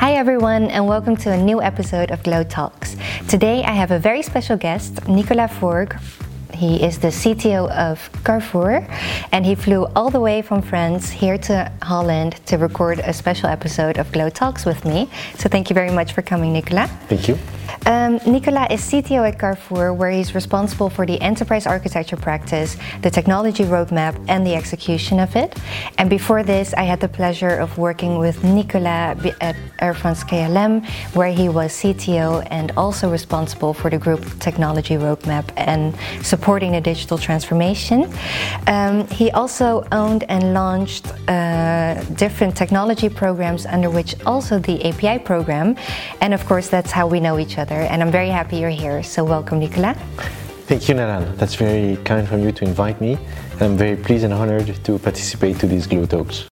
Hi everyone, and welcome to a new episode of Glow Talks. Today I have a very special guest, Nicolas Forgues. He is the CTO of Carrefour, and he flew all the way from France here to Holland to record a special episode of Glow Talks with me. So thank you very much for coming, Nicolas. Thank you. Nicolas is CTO at Carrefour, where he's responsible for the enterprise architecture practice, the technology roadmap, and the execution of it. And before this, I had the pleasure of working with Nicolas at Air France KLM, where he was CTO and also responsible for the group technology roadmap and supporting the digital transformation. He also owned and launched different technology programs, under which also the API program. And of course, that's how we know each other. And I'm very happy you're here. So welcome, Nicolas. Thank you, Nalan. That's very kind from you to invite me. And I'm very pleased and honored to participate to these Glow Talks.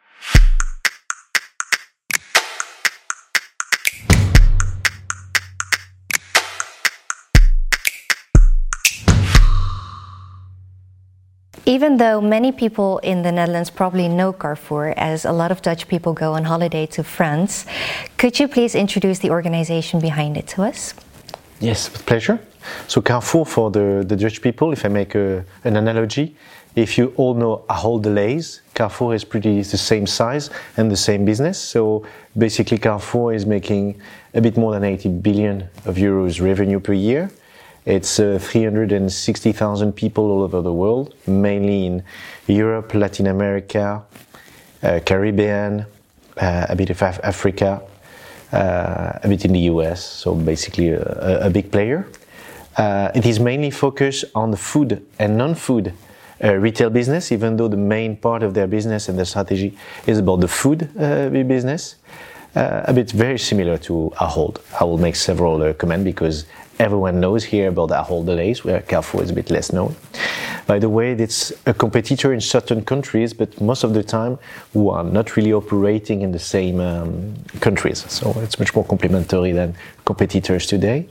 Even though many people in the Netherlands probably know Carrefour, as a lot of Dutch people go on holiday to France, could you please introduce the organization behind it to us? Yes, with pleasure. So Carrefour, for the Dutch people, if I make an analogy, if you all know Ahold Delhaize, Carrefour is pretty the same size and the same business. So basically Carrefour is making a bit more than 80 billion of euros revenue per year. It's 360,000 people all over the world, mainly in Europe, Latin America, Caribbean, a bit of Africa, a bit in the US, so basically a big player. It is mainly focused on the food and non-food retail business, even though the main part of their business and their strategy is about the food business. A bit very similar to Ahold. I will make several comments because everyone knows here about Ahold Delhaize, where Carrefour is a bit less known. By the way, it's a competitor in certain countries, but most of the time who are not really operating in the same countries. So it's much more complementary than competitors today.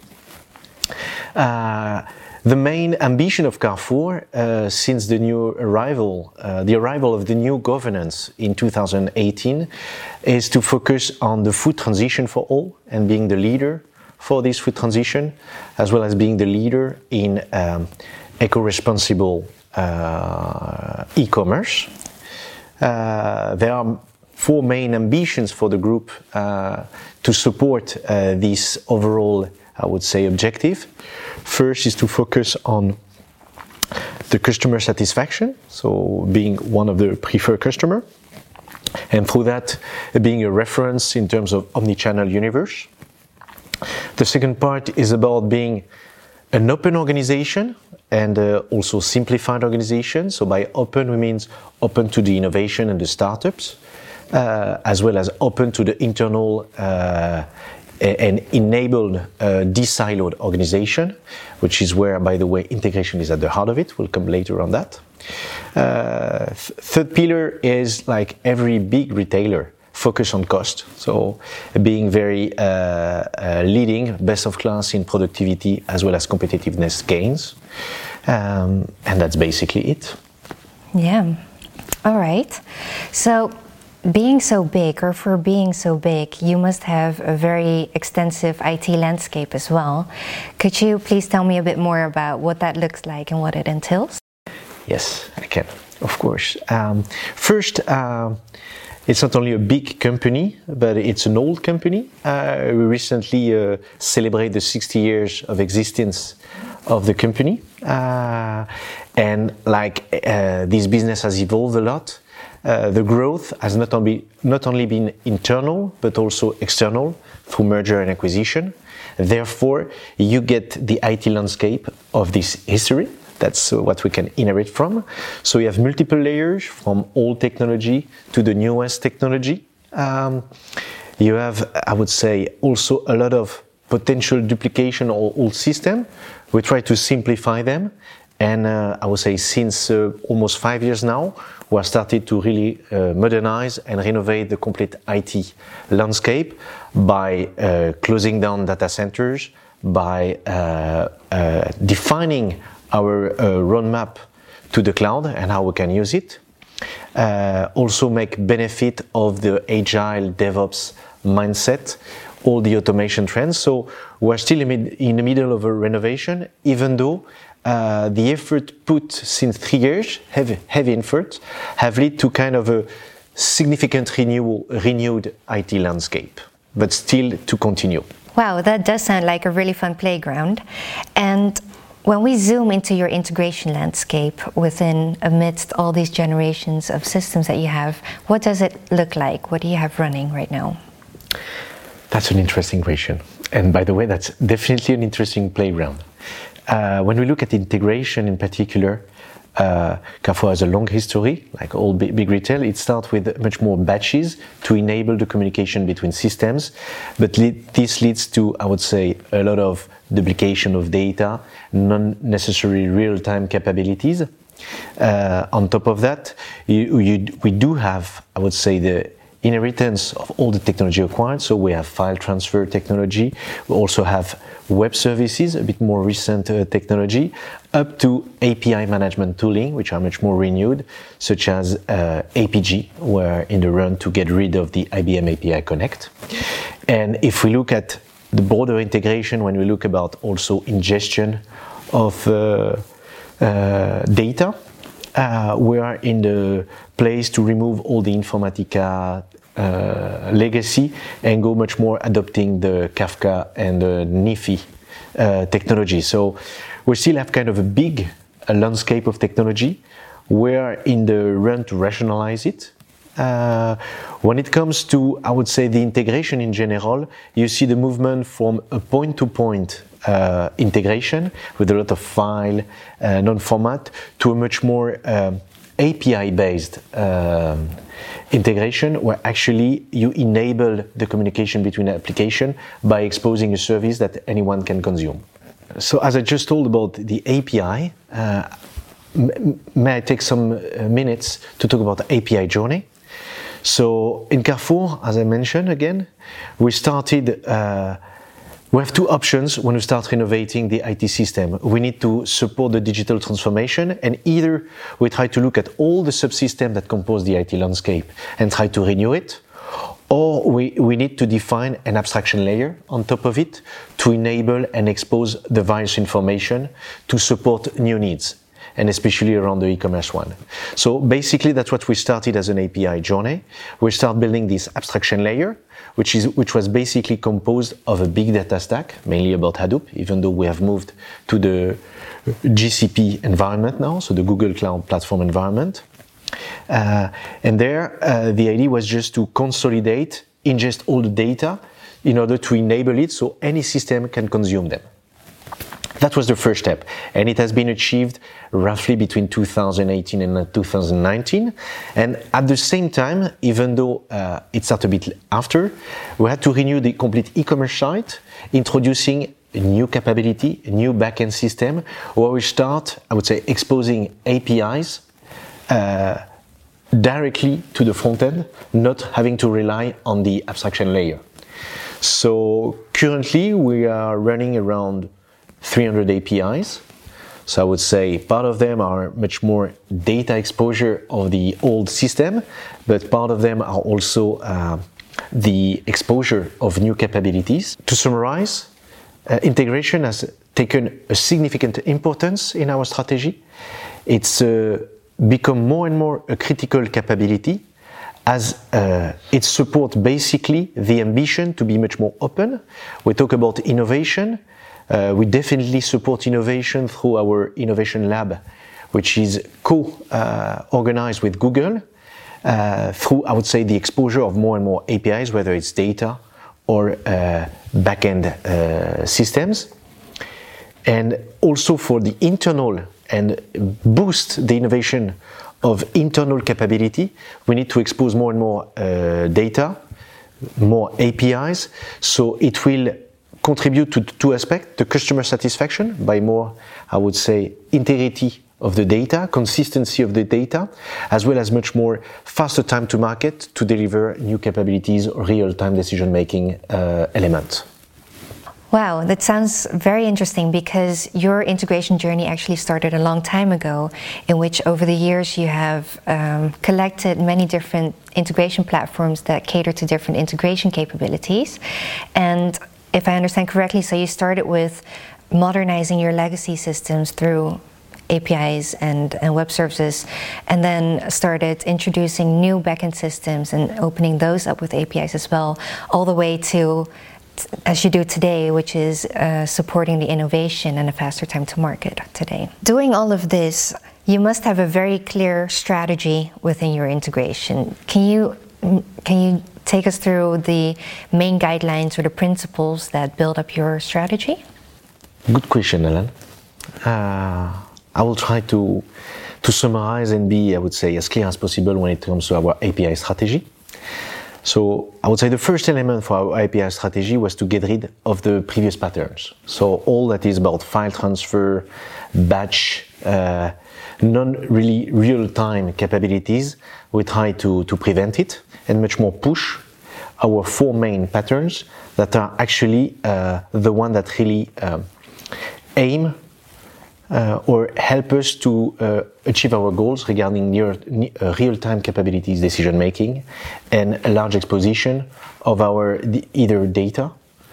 The main ambition of Carrefour since the arrival of the new governance in 2018 is to focus on the food transition for all and being the leader for this food transition, as well as being the leader in eco-responsible e-commerce. There are four main ambitions for the group to support this overall, I would say, objective. First is to focus on the customer satisfaction, so being one of the preferred customer, and through that being a reference in terms of omnichannel universe. The second part is about being an open organization and also simplified organization. So by open, we mean open to the innovation and the startups, as well as open to the internal and enabled de-siloed organization, which is where, by the way, integration is at the heart of it. We'll come later on that. Third pillar is, like every big retailer, focus on cost. So being very leading, best of class in productivity as well as competitiveness gains. And that's basically it. Yeah. All right. So being so big, or for being so big, you must have a very extensive IT landscape as well. Could you please tell me a bit more about what that looks like and what it entails? Yes, I can, of course. First, it's not only a big company, but it's an old company. We recently celebrated the 60 years of existence of the company. And this business has evolved a lot. The growth has not only been internal, but also external through merger and acquisition. Therefore, you get the IT landscape of this history. That's what we can inherit from. So you have multiple layers from old technology to the newest technology. You have, I would say, also a lot of potential duplication or old system. We try to simplify them. And I would say since almost 5 years now, we have started to really modernize and renovate the complete IT landscape by closing down data centers, by defining our roadmap to the cloud and how we can use it. Also make benefit of the agile DevOps mindset, all the automation trends. So we're still in the middle of a renovation, even though the effort put since 3 years, heavy effort, have led to kind of a significant renewed IT landscape, but still to continue. Wow, that does sound like a really fun playground. And when we zoom into your integration landscape amidst all these generations of systems that you have, what does it look like? What do you have running right now? That's an interesting question. And by the way, that's definitely an interesting playground. When we look at integration in particular, Carrefour has a long history, like all big retail. It starts with much more batches to enable the communication between systems, but this leads to, I would say, a lot of duplication of data, non-necessary real-time capabilities. On top of that, we do have, I would say, the inheritance of all the technology acquired. So we have file transfer technology. We also have web services, a bit more recent technology, up to API management tooling, which are much more renewed, such as APG. We're in the run to get rid of the IBM API Connect. And if we look at the broader integration, when we look about also ingestion of data, we are in the place to remove all the Informatica legacy and go much more adopting the Kafka and the NiFi technology. So we still have kind of a big landscape of technology. We're in the run to rationalize it. When it comes to, I would say, the integration in general, you see the movement from a point-to-point integration with a lot of file, non-format, to a much more API-based integration, where actually you enable the communication between applications by exposing a service that anyone can consume. So as I just told about the API, may I take some minutes to talk about the API journey? So in Carrefour, as I mentioned again, we started, we have two options when we start renovating the IT system. We need to support the digital transformation, and either we try to look at all the subsystems that compose the IT landscape and try to renew it, or we need to define an abstraction layer on top of it to enable and expose the various information to support new needs, and especially around the e-commerce one. So basically that's what we started as an API journey. We start building this abstraction layer, which was basically composed of a big data stack, mainly about Hadoop, even though we have moved to the GCP environment now, so the Google Cloud Platform environment. And there, the idea was just to consolidate, ingest all the data in order to enable it so any system can consume them. That was the first step, and it has been achieved roughly between 2018 and 2019. And at the same time, even though it started a bit after, we had to renew the complete e-commerce site, introducing a new capability, a new backend system, where we start, I would say, exposing APIs directly to the front end, not having to rely on the abstraction layer. So currently, we are running around 300 APIs. So I would say part of them are much more data exposure of the old system, but part of them are also the exposure of new capabilities. To summarize, integration has taken a significant importance in our strategy. It's become more and more a critical capability as it supports basically the ambition to be much more open. We talk about innovation. We definitely support innovation through our innovation lab, which is co-organized with Google through, I would say, the exposure of more and more APIs, whether it's data or backend systems. And also for the internal and boost the innovation of internal capability, we need to expose more and more data, more APIs, so it will contribute to two aspects: the customer satisfaction by more, I would say, integrity of the data, consistency of the data, as well as much more faster time to market to deliver new capabilities or real-time decision-making elements. Wow, that sounds very interesting because your integration journey actually started a long time ago, in which over the years you have collected many different integration platforms that cater to different integration capabilities. And if I understand correctly, so you started with modernizing your legacy systems through APIs and web services, and then started introducing new backend systems and opening those up with APIs as well, all the way to as you do today, which is supporting the innovation and a faster time to market today. Doing all of this, you must have a very clear strategy within your integration. Can you take us through the main guidelines or the principles that build up your strategy? Good question, Ellen. I will try to summarize and be, I would say, as clear as possible when it comes to our API strategy. So I would say the first element for our API strategy was to get rid of the previous patterns. So all that is about file transfer, batch, non-really real-time capabilities, we try to prevent it and much more push our four main patterns that are actually the one that really aim or help us to achieve our goals regarding real-time capabilities, decision-making, and a large exposition of our either data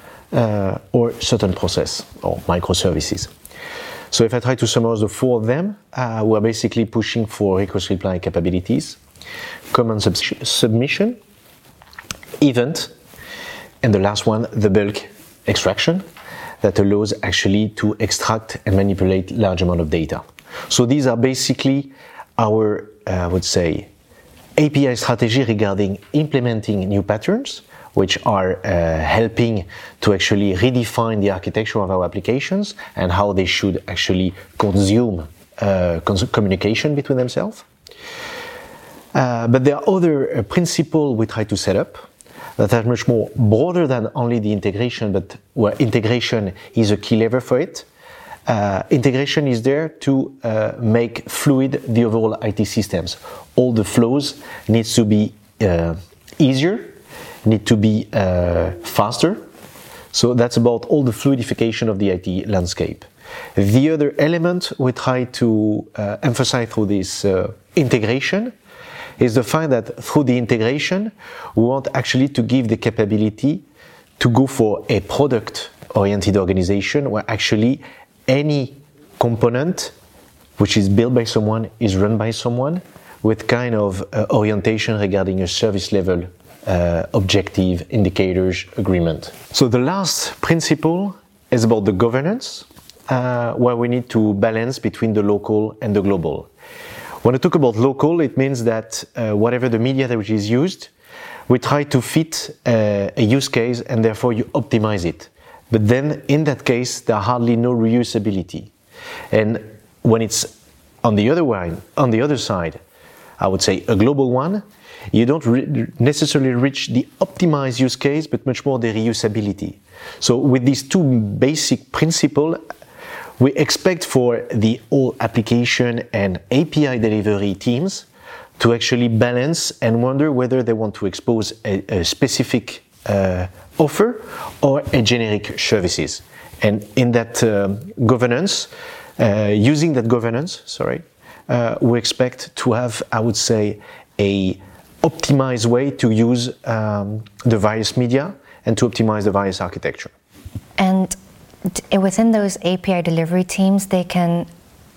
or certain process or microservices. So if I try to summarize the four of them, we're basically pushing for request reply capabilities, command submission, event, and the last one, the bulk extraction, that allows actually to extract and manipulate large amount of data. So these are basically our, I would say, API strategy regarding implementing new patterns, which are helping to actually redefine the architecture of our applications and how they should actually consume communication between themselves. But there are other principles we try to set up that are much more broader than only the integration, but where integration is a key lever for it. Integration is there to make fluid the overall IT systems. All the flows needs to be easier, need to be faster. So that's about all the fluidification of the IT landscape. The other element we try to emphasize through this integration is the fact that through the integration, we want actually to give the capability to go for a product-oriented organization where actually any component which is built by someone is run by someone with kind of orientation regarding a service level objective, indicators, agreement. So the last principle is about the governance, where we need to balance between the local and the global. When I talk about local, it means that whatever the media which is used, we try to fit a use case and therefore you optimize it. But then in that case, there are hardly no reusability. And when it's on the other side, I would say a global one, you don't necessarily reach the optimized use case, but much more the reusability. So with these two basic principles, we expect for the whole application and API delivery teams to actually balance and wonder whether they want to expose a specific offer or a generic services. And in that governance, using that governance, we expect to have, I would say, a optimized way to use the various media and to optimize the various architecture. And within those API delivery teams, they can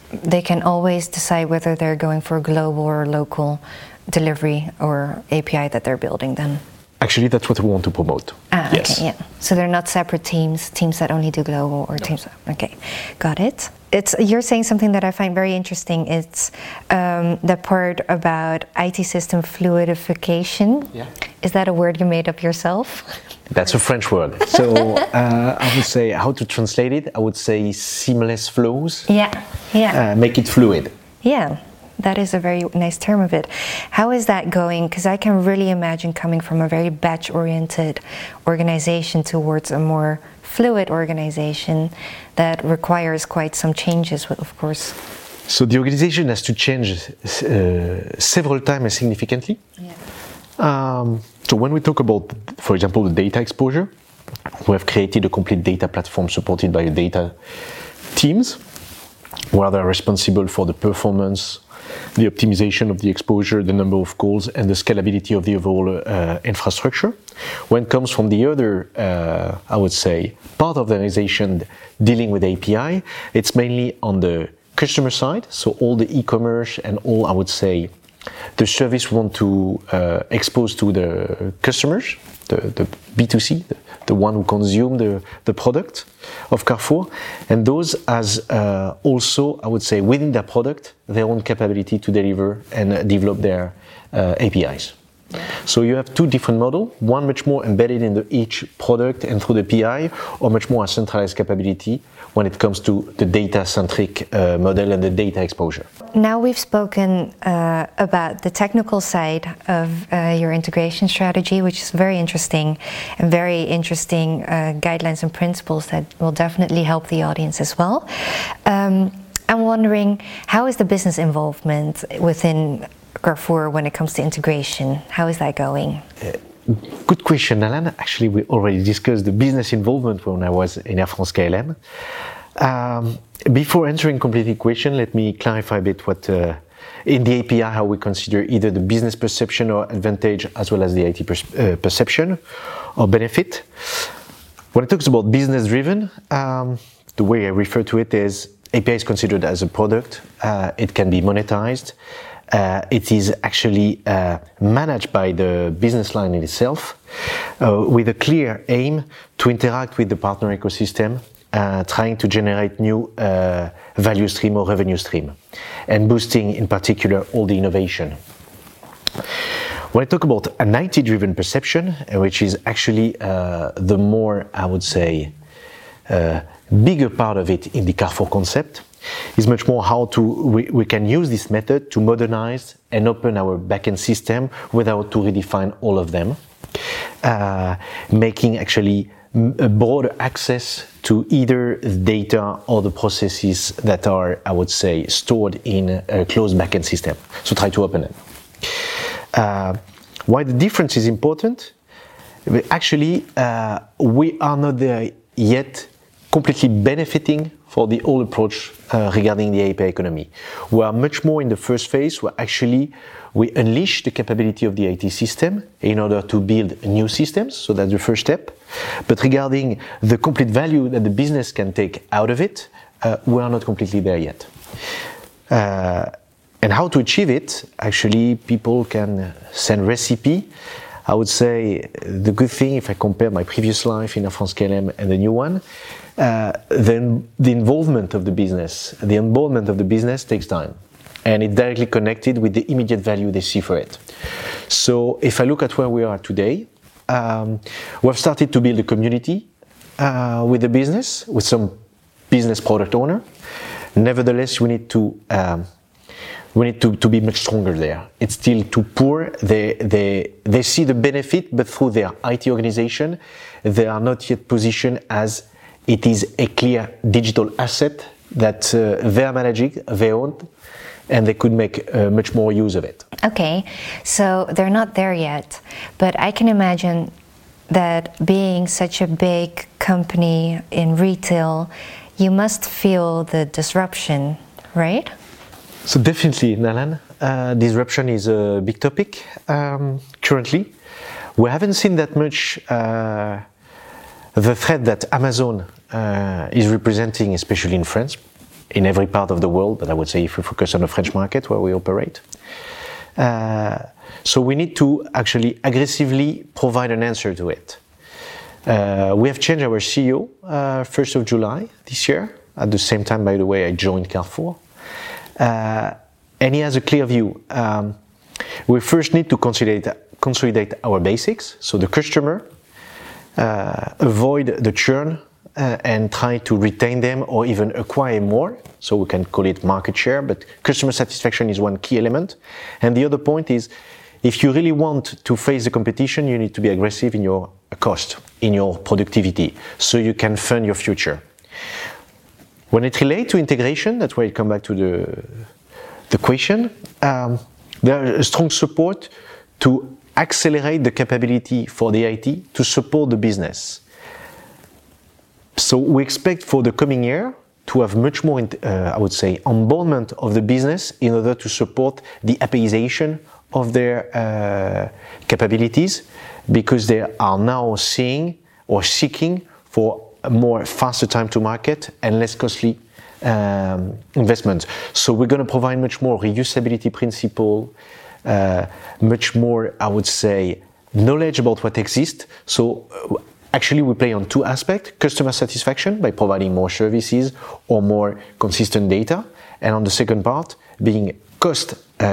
always decide whether they're going for a global or local delivery or API that they're building then. Actually, that's what we want to promote. Yes. Okay, yeah. So they're not separate teams that only do global or teams. Okay, got it. You're saying something that I find very interesting. It's the part about IT system fluidification. Yeah. Is that a word you made up yourself? That's a French word. So I would say, how to translate it? I would say seamless flows. Yeah. Make it fluid. Yeah. That is a very nice term of it. How is that going? Because I can really imagine coming from a very batch-oriented organization towards a more fluid organization that requires quite some changes, of course. So the organization has to change several times and significantly. Yeah. So when we talk about, for example, the data exposure, We have created a complete data platform supported by data teams, where they are responsible for the performance, the optimization of the exposure, the number of calls, and the scalability of the overall infrastructure. When it comes from the other, I would say, part of the organization dealing with API, it's mainly on the customer side, so all the e-commerce and all, I would say, the service we want to expose to the customers, the B2C, the one who consume the product of Carrefour, and those as also, I would say, within their product, their own capability to deliver and develop their APIs. So you have two different models, one much more embedded in each product and through the PI, or much more a centralized capability when it comes to the data-centric model and the data exposure. Now we've spoken about the technical side of your integration strategy, which is very interesting guidelines and principles that will definitely help the audience as well. I'm wondering, how is the business involvement within Carrefour when it comes to integration? How is that going? Good question, Alan. Actually, we already discussed the business involvement when I was in Air France KLM. Before answering completely the question, let me clarify a bit what in the API how we consider either the business perception or advantage as well as the IT perception or benefit. When it talks about business driven, the way I refer to it is API is considered as a product. It can be monetized. It is actually managed by the business line in itself with a clear aim to interact with the partner ecosystem, trying to generate new value stream or revenue stream, and boosting in particular all the innovation. When I talk about an IT-driven perception, which is actually the more, I would say, bigger part of it in the Carrefour concept, is much more how we can use this method to modernize and open our backend system without to redefine all of them, making actually a broader access to either the data or the processes that are, I would say, stored in a closed backend system. So try to open it. Why the difference is important? Actually, we are not there yet completely benefiting for the old approach regarding the API economy. We are much more in the first phase where actually we unleash the capability of the IT system in order to build new systems, so that's the first step. But regarding the complete value that the business can take out of it, we are not completely there yet. And how to achieve it? Actually, people can send recipe. I would say the good thing, if I compare my previous life in Air France KLM and the new one, then the involvement of the business, the involvement of the business takes time. And it's directly connected with the immediate value they see for it. So if I look at where we are today, we've started to build a community with the business, with some business product owner. Nevertheless, we need to be much stronger there. It's still too poor. They see the benefit, but through their IT organization, they are not yet positioned as it is a clear digital asset that they are managing, they own, and they could make much more use of it. Okay, so they're not there yet, but I can imagine that being such a big company in retail, you must feel the disruption, right? So definitely, Nalan, disruption is a big topic currently. We haven't seen that much the threat that Amazon is representing, especially in France, in every part of the world, but I would say if we focus on the French market where we operate. So we need to actually aggressively provide an answer to it. We have changed our CEO 1st of July this year. At the same time, by the way, I joined Carrefour. And he has a clear view. We first need to consolidate our basics, so the customer, avoid the churn, and try to retain them or even acquire more. So we can call it market share, but customer satisfaction is one key element. And the other point is, if you really want to face the competition, you need to be aggressive in your cost, in your productivity, so you can fund your future. When it relates to integration, that's where I come back to the question. There is strong support to accelerate the capability for the IT to support the business. So we expect for the coming year to have much more, I would say, onboardment of the business in order to support the APIization of their capabilities, because they are now seeing or seeking for a more faster time to market and less costly investments. So we're going to provide much more reusability principle, much more, I would say, knowledge about what exists. So actually we play on two aspects: customer satisfaction by providing more services or more consistent data, and on the second part being cost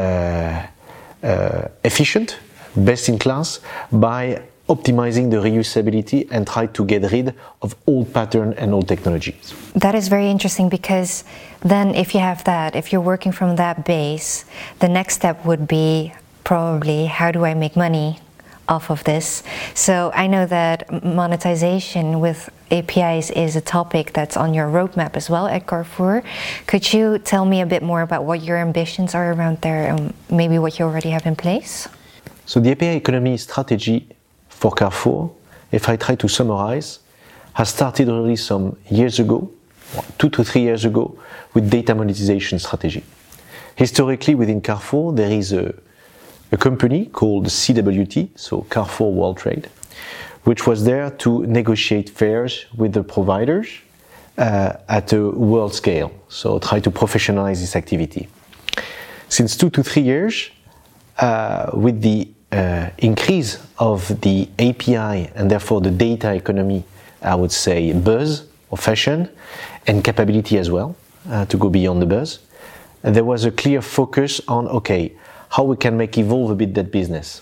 efficient, best in class, by optimizing the reusability and try to get rid of old pattern and old technologies. That is very interesting, because then if you have that, if you're working from that base, the next step would be probably, how do I make money off of this? So I know that monetization with APIs is a topic that's on your roadmap as well at Carrefour. Could you tell me a bit more about what your ambitions are around there, and maybe what you already have in place? So the API economy strategy for Carrefour, if I try to summarize, has started already some years ago, 2 to 3 years ago, with data monetization strategy. Historically, within Carrefour, there is a company called CWT, so Carrefour World Trade, which was there to negotiate fares with the providers at a world scale, so try to professionalize this activity. Since 2 to 3 years, with the increase of the API and therefore the data economy, I would say, buzz or fashion, and capability as well, to go beyond the buzz, there was a clear focus on, okay, how we can make evolve a bit that business.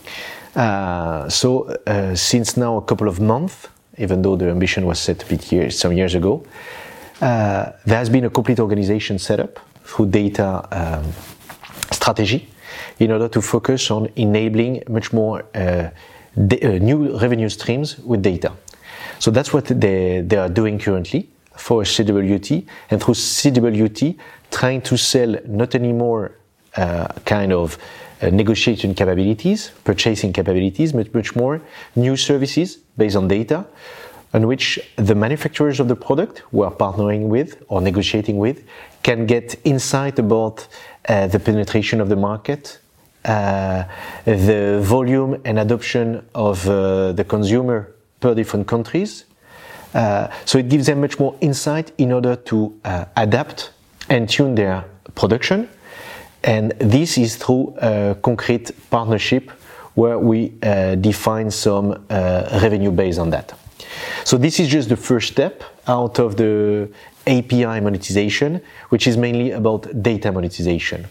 So since now a couple of months, even though the ambition was set a bit some years ago, there has been a complete organization set up through data strategy in order to focus on enabling much more new revenue streams with data. So that's what they are doing currently for CWT, and through CWT trying to sell not anymore kind of negotiation capabilities, purchasing capabilities, but much more new services based on data, on which the manufacturers of the product we are partnering with or negotiating with can get insight about the penetration of the market, the volume and adoption of the consumer per different countries. So it gives them much more insight in order to adapt and tune their production. And this is through a concrete partnership where we define some revenue based on that. So this is just the first step out of the API monetization, which is mainly about data monetization.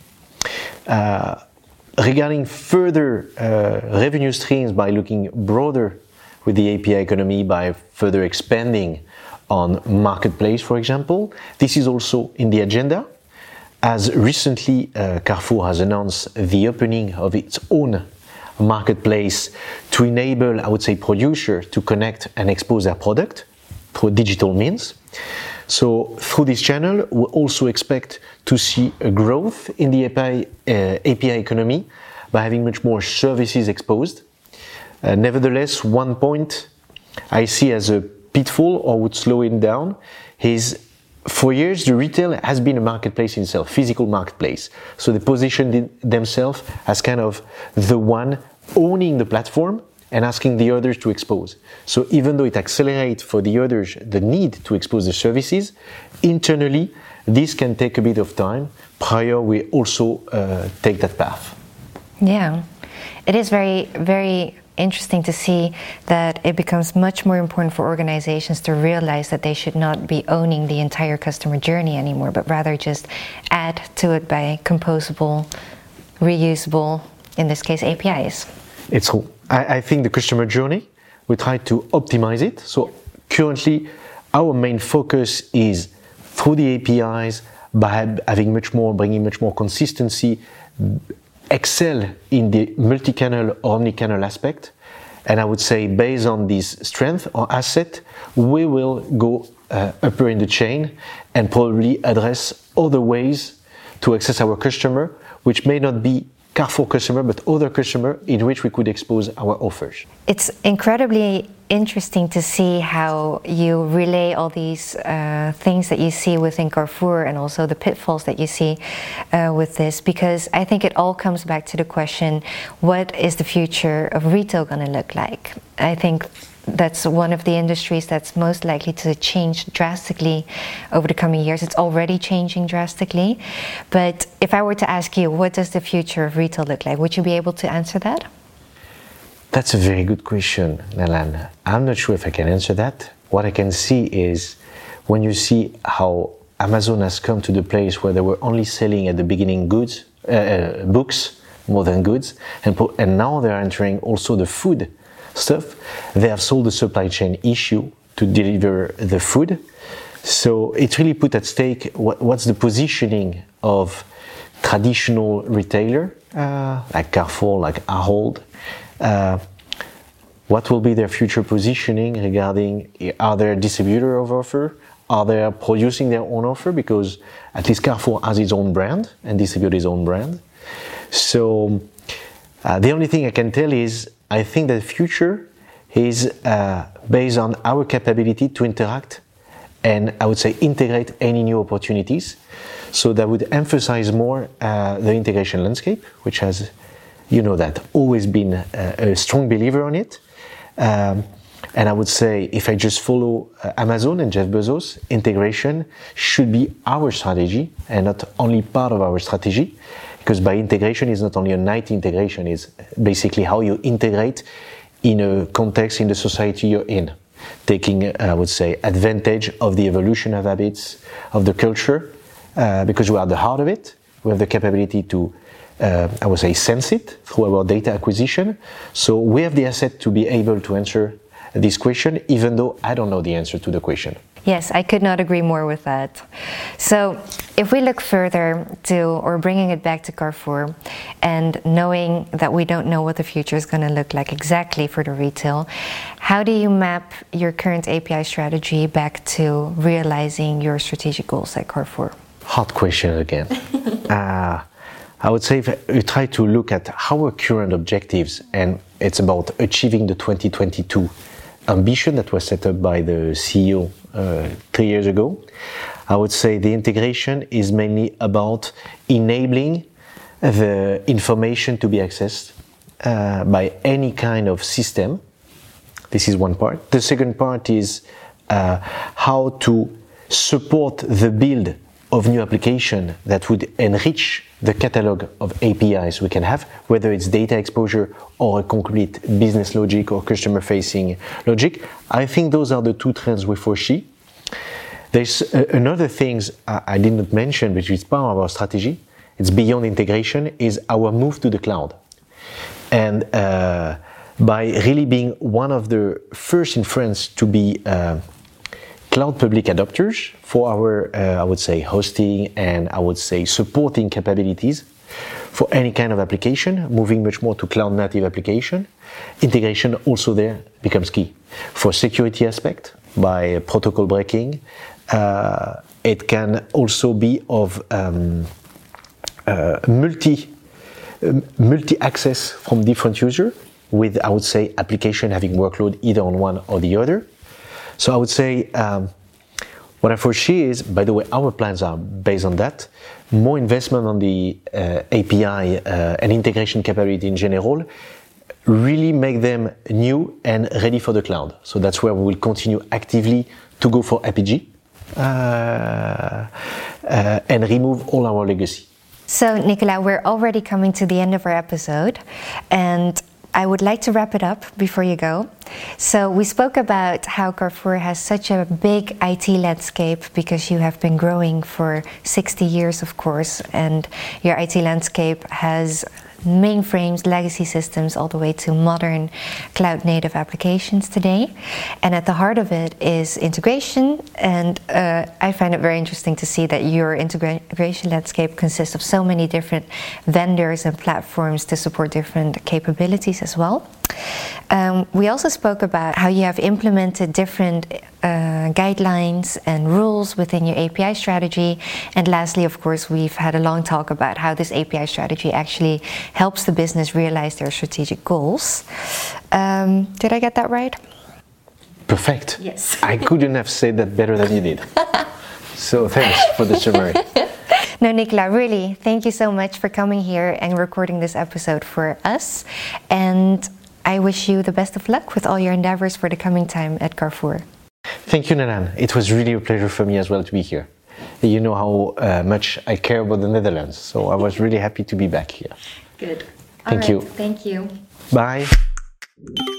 Regarding further revenue streams by looking broader with the API economy, by further expanding on marketplace, for example, this is also in the agenda. As recently Carrefour has announced the opening of its own marketplace to enable, I would say, producers to connect and expose their product through digital means. So through this channel, we also expect to see a growth in the API economy by having much more services exposed. Nevertheless, one point I see as a pitfall or would slow it down is, for years, the retail has been a marketplace in itself, physical marketplace. So they positioned themselves as kind of the one owning the platform and asking the others to expose. So even though it accelerates for the others the need to expose the services, internally, this can take a bit of time prior we also take that path. Yeah, it is very, very interesting to see that it becomes much more important for organizations to realize that they should not be owning the entire customer journey anymore, but rather just add to it by composable, reusable, in this case, APIs. It's true. I think the customer journey, we try to optimize it. So currently, our main focus is through the APIs, by having much more, bringing much more consistency, excel in the multi-channel or omni-channel aspect. And I would say based on this strength or asset, we will go upper in the chain and probably address other ways to access our customer, which may not be Carrefour customer, but other customer in which we could expose our offers. It's incredibly interesting to see how you relay all these things that you see within Carrefour and also the pitfalls that you see with this, because I think it all comes back to the question, what is the future of retail going to look like? I think that's one of the industries that's most likely to change drastically over the coming years. It's already changing drastically. But if I were to ask you, what does the future of retail look like? Would you be able to answer that? That's a very good question, Nalan. I'm not sure if I can answer that. What I can see is when you see how Amazon has come to the place where they were only selling at the beginning goods, books more than goods, and now they're entering also the food stuff. They have solved the supply chain issue to deliver the food. So it really put at stake what's the positioning of traditional retailer like Carrefour, like Ahold. What will be their future positioning regarding, are they a distributor of offer? Are they producing their own offer? Because at least Carrefour has its own brand and distributes its own brand. So the only thing I can tell is I think that the future is based on our capability to interact and I would say integrate any new opportunities. So that would emphasize more the integration landscape, which has, you know, that always been a strong believer on it. And I would say if I just follow Amazon and Jeff Bezos, integration should be our strategy and not only part of our strategy. Because by integration is not only a night integration, it's basically how you integrate in a context in the society you're in. Taking, I would say, advantage of the evolution of habits, of the culture, because we are at the heart of it. We have the capability to, I would say, sense it through our data acquisition. So we have the asset to be able to answer this question, even though I don't know the answer to the question. Yes, I could not agree more with that. So if we look further to, or bringing it back to Carrefour, and knowing that we don't know what the future is going to look like exactly for the retail, how do you map your current API strategy back to realizing your strategic goals at Carrefour? Hard question again. I would say if you try to look at our current objectives, and it's about achieving the 2022 ambition that was set up by the CEO 3 years ago, I would say the integration is mainly about enabling the information to be accessed by any kind of system. This is one part. The second part is how to support the build of new application that would enrich the catalog of APIs we can have, whether it's data exposure or a complete business logic or customer-facing logic. I think those are the two trends we foresee. There's another things I did not mention, which is part of our strategy. It's beyond integration, is our move to the cloud. And by really being one of the first in France to be cloud public adopters for our, I would say, hosting and I would say supporting capabilities for any kind of application, moving much more to cloud native application. Integration also there becomes key. For security aspect, by protocol breaking, it can also be of multi-access from different users with, I would say, application having workload either on one or the other. So I would say what I foresee is, by the way, our plans are based on that, more investment on the API and integration capability in general, really make them new and ready for the cloud. So that's where we will continue actively to go for APG and remove all our legacy. So Nicolas, we're already coming to the end of our episode, and I would like to wrap it up before you go. So we spoke about how Carrefour has such a big IT landscape because you have been growing for 60 years, of course, and your IT landscape has mainframes, legacy systems, all the way to modern cloud-native applications today. And at the heart of it is integration, and I find it very interesting to see that your integration landscape consists of so many different vendors and platforms to support different capabilities as well. We also spoke about how you have implemented different guidelines and rules within your API strategy. And lastly, of course, we've had a long talk about how this API strategy actually helps the business realize their strategic goals. Did I get that right? Perfect. Yes. I couldn't have said that better than you did. So thanks for the summary. No, Nicolas, really, thank you so much for coming here and recording this episode for us. And I wish you the best of luck with all your endeavors for the coming time at Carrefour. Thank you, Nanan. It was really a pleasure for me as well to be here. You know how much I care about the Netherlands, so I was really happy to be back here. Good. Thank you. Thank you. Bye.